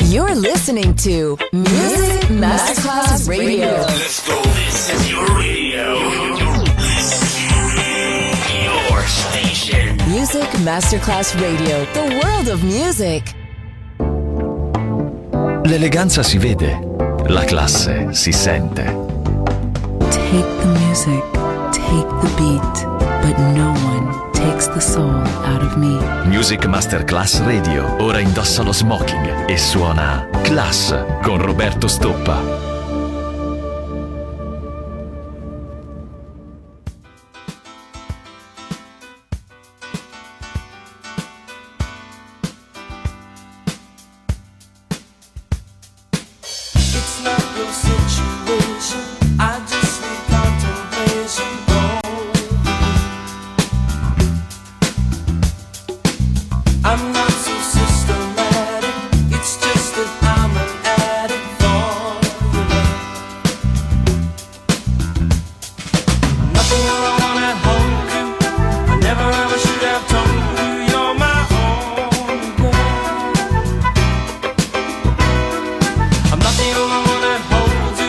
You're listening to Music Masterclass Radio. Let's go. This is your radio. Your station. Music Masterclass Radio. The world of music. L'eleganza si vede, la classe si sente. Take the music, take the beat, but no one takes the soul out of me. Music Masterclass Radio ora indossa lo smoking e suona Class con Roberto Stoppa. I'm not the only one that holds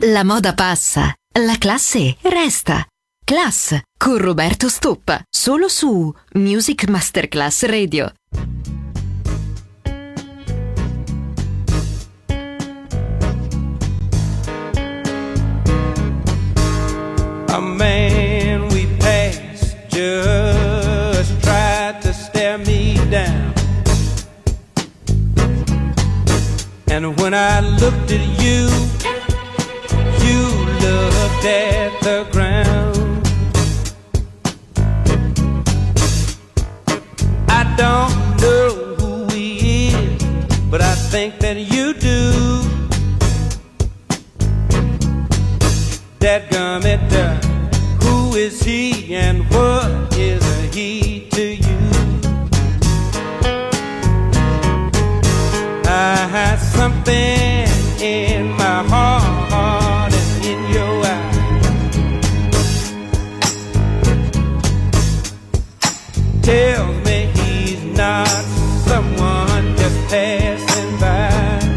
La moda passa, la classe resta. Class con Roberto Stoppa, solo su Music Masterclass Radio. A man we passed just tried to stare me down. And when I looked at you, you looked at the ground. I don't know who he is, but I think that you do. Dadgummit, who is he and what is a he to you? I had something in my heart and in your eyes tells me he's not someone just passing by.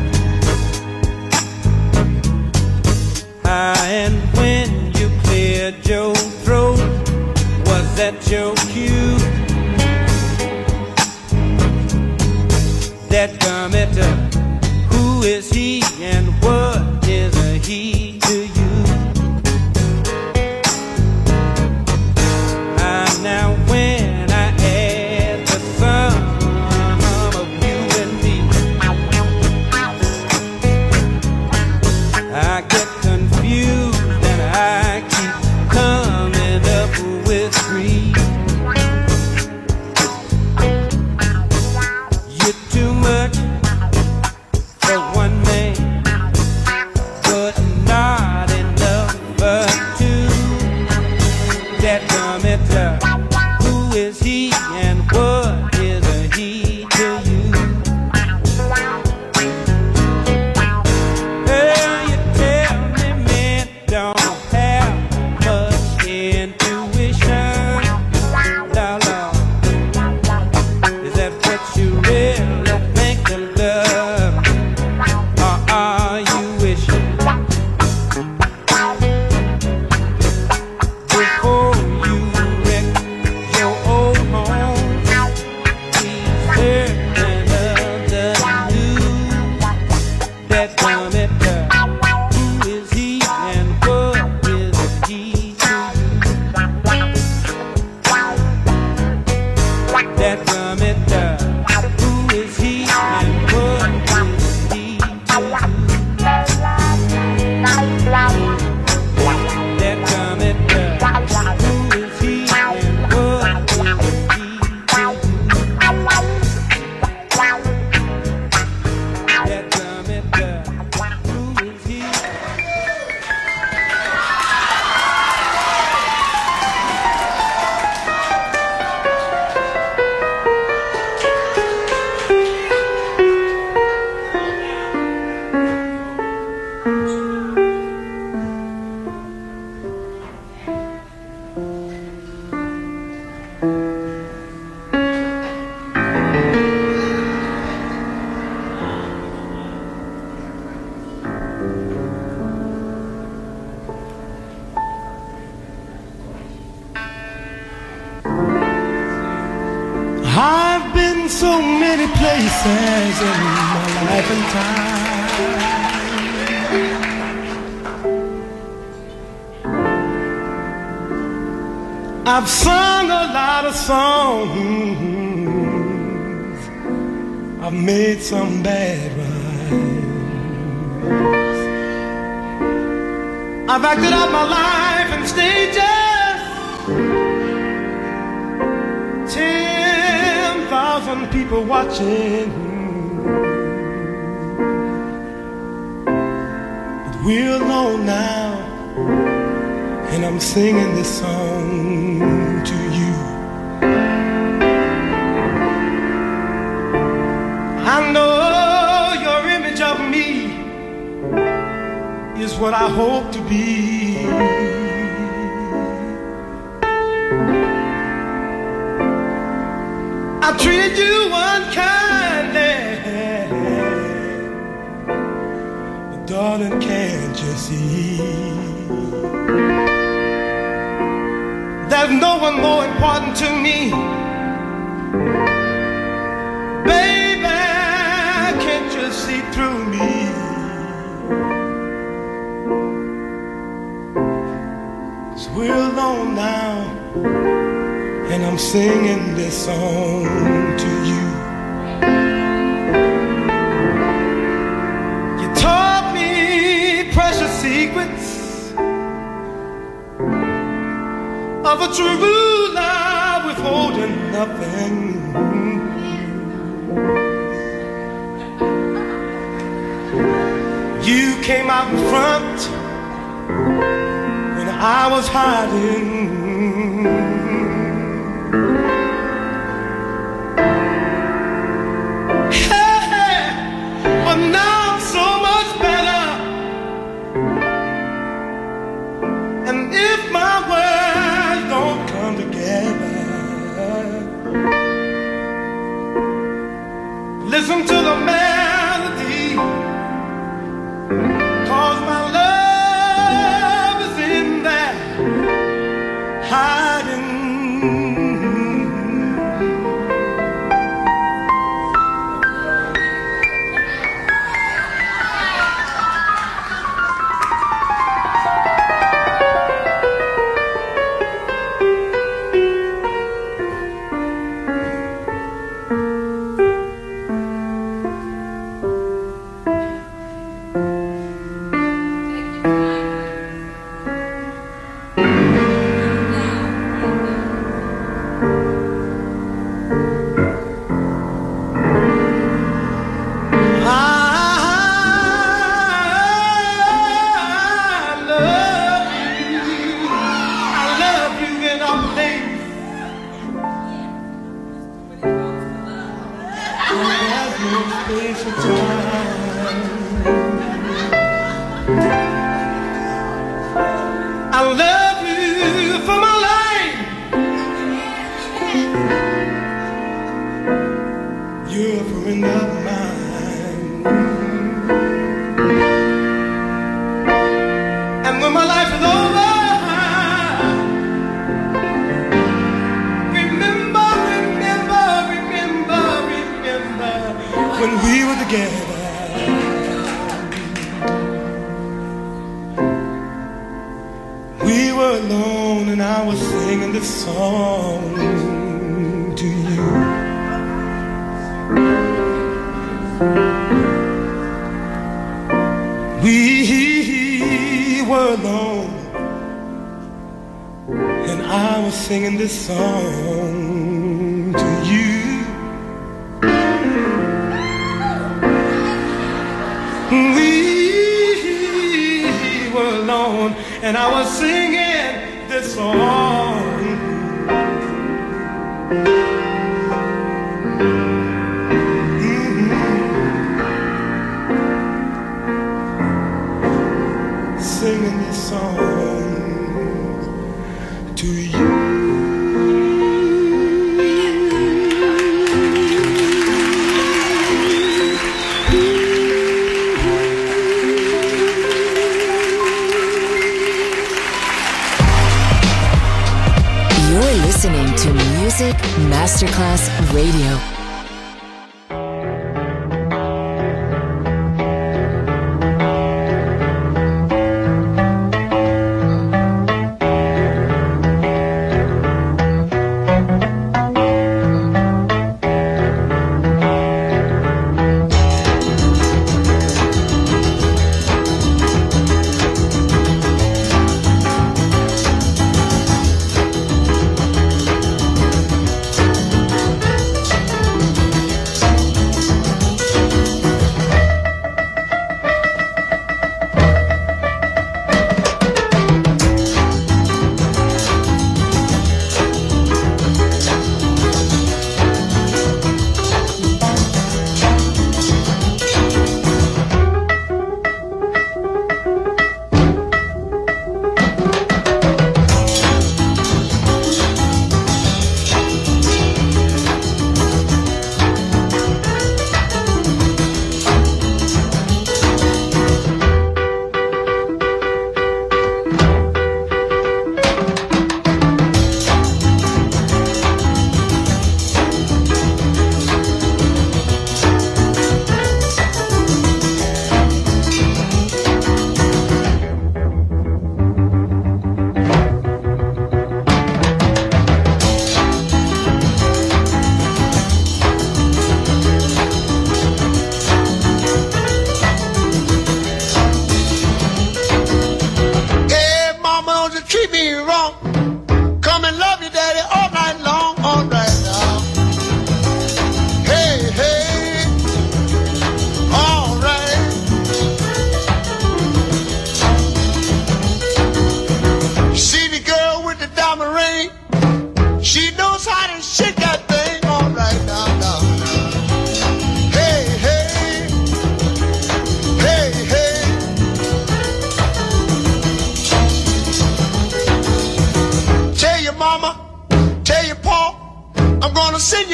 And when you cleared your throat, was that your cue? Dadgummit, who is he and what is a he to you? Now when I add the sum of you and me, I get confused and I keep coming up with three. You're too much for one man, but not enough for two. Dadgummit, who is he and what is a he to you? Well, you tell me men don't have much intuition. La la, is that what you really think of love? Or are you wishing before you wreck your old home? Be certain of the news. Dadgummit, who is he and what is he to you? Dadgummit, who is he and what is he to you? Dadgummit, who is he and what is he to you? Dadgummit, who is he? I've been so many places in my life and time. I've sung a lot of songs, I've made some bad rhymes, I've acted out my life in stages, 10,000 people watching. But we're alone now, and I'm singing this song to you. I know your image of me is what I hope to be. I treated you unkindly, but darling, darling, can't you see? There's no one more important to me. Baby, can't you see through me? So we're alone now, and I'm singing this song to you. You taught me precious secrets of a true love, withholding nothing. You came out in front when I was hiding. Hey, but now I'm so much better. And if my words don't come together, listen to the melody, 'cause my love is in there hiding. I love you for my life. You're a friend of mine. And when my life is over, remember when we were together. We were alone and I was singing this song to you. We were alone and I was singing this song to you. We were alone and I was singing this song. Singing this song to you. Listening to Music Masterclass Radio.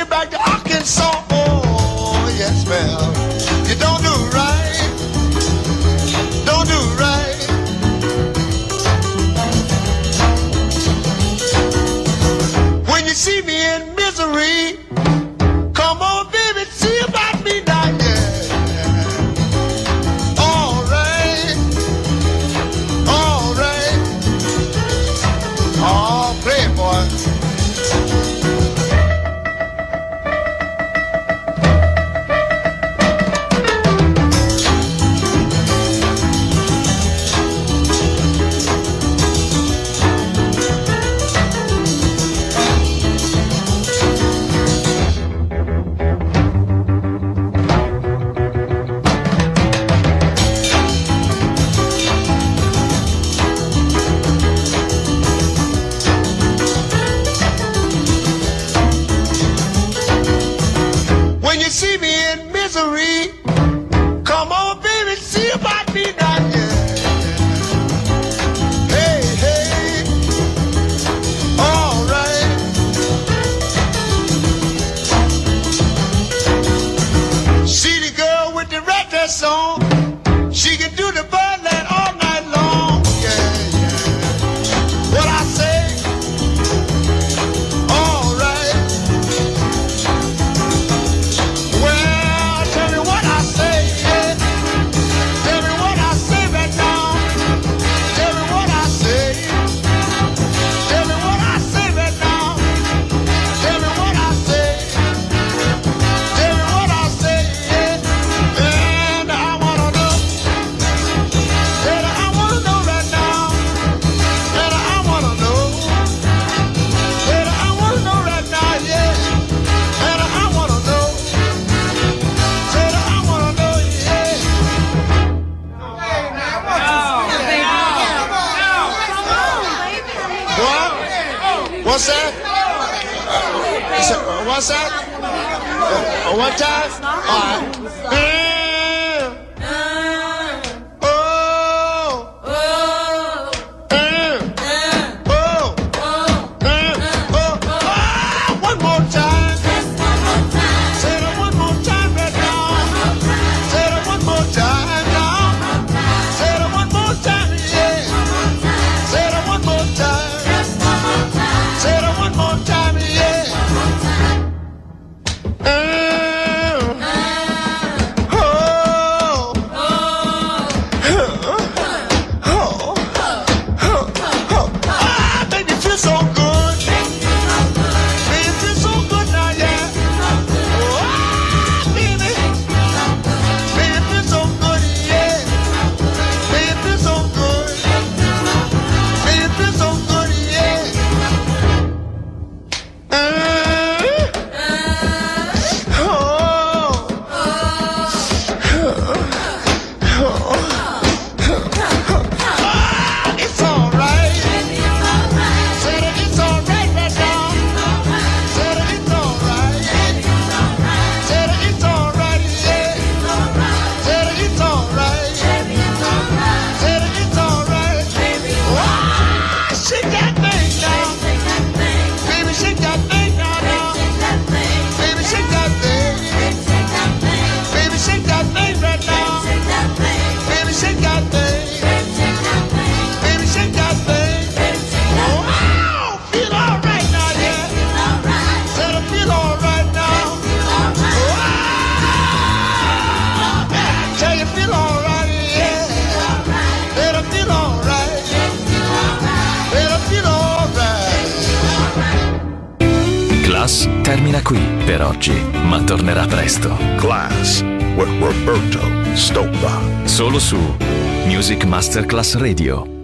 back to Arkansas. Oh, yes, well, you don't do right. Don't do right. When you see me in misery, come on, baby, see about me now, yeah. All right. All right. Oh, play it, boy. When you see me in misery, come on, baby, see about me now, yeah. Hey, hey, all right. See the girl with the red dress on, she can do the birdland all night long, yeah, yeah. What I say, all right. Well, tell me what I say, yeah. Tell me what I say right now. Tell me what I say. Tell me what I say right now. Tell me what I say. Tell me what I say, yeah. And I wanna know. And I wanna know right now. And I wanna know. And I wanna know right now, yeah. And I wanna know. Said I wanna know, yeah. What? What's that? What's that? One time? All right. Oh. One more time. Say it one more time right now. Say it one more time now. Say it one more time, yeah. Say it one more time. Say it one more time, yeah. Baby, feel so good. Baby, feel so good now, yeah. Baby. Baby, feel so good, yeah. Baby, feel so good. Baby, feel so good, yeah. It's all right. Said it, it's all right right now. Said it, it's all right. Said it, it's all right, yeah. Said it, it's all right. Said it, it's all right. Wow, shake that thing now. Baby, shake that thing now, now. Baby, shake that thing. Baby, shake that thing right now. Baby, shake that thing. Baby, shake that thing. Wow, feel all right now, yeah. Said I feel all right now. Wow, tell you feel all right, yeah. Said I feel all right. Said I feel all right. Class termina qui per oggi, ma tornerà presto. Class with Roberto Stoppa. Solo su Music Masterclass Radio.